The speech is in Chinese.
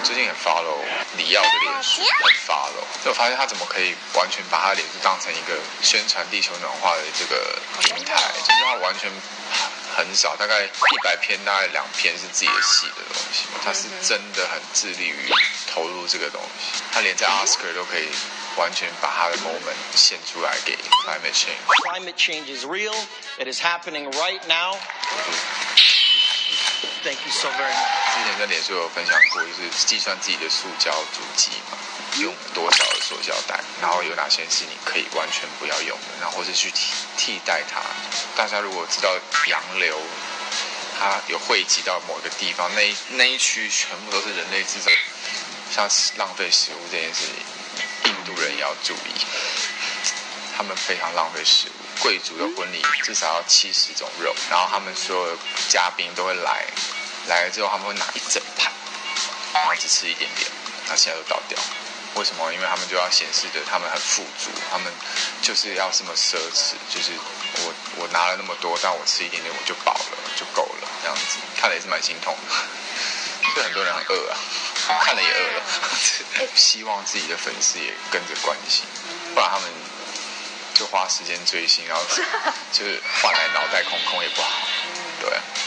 最近很 follow 李奥的脸书，很 follow， 就我发现他怎么可以完全把他脸书当成一个宣传地球暖化的这个平台，就是他完全很少，大概100篇大概2篇是自己的戏的东西，他是真的很致力于投入这个东西，他连在 Oscar 都可以完全把他的 moment 献出来给 climate change。 Climate change is real. It is happening right now. Thank you so very much. 之前在脸书有分享过，就是计算自己的塑胶足迹嘛，用多少的塑胶袋，然后有哪些是你可以完全不要用的，然后或是去替代它。大家如果知道洋流它有汇集到某个地方，那一区全部都是人类制造，像浪费食物这件事情，印度人也要注意，他们非常浪费食物。贵族的婚礼至少要70种肉，然后他们所有的嘉宾都会来了之后，他们会拿一整盘，然后只吃一点点，那现在都倒掉。为什么？因为他们就要显示着他们很富足，他们就是要这么奢侈，就是我拿了那么多，但我吃一点点我就饱了，就够了，这样子看了也是蛮心痛的。所以很多人很饿啊，看了也饿了，希望自己的粉丝也跟着关心，不然他们就花时间追星，然后就是换来脑袋空空也不好，对啊。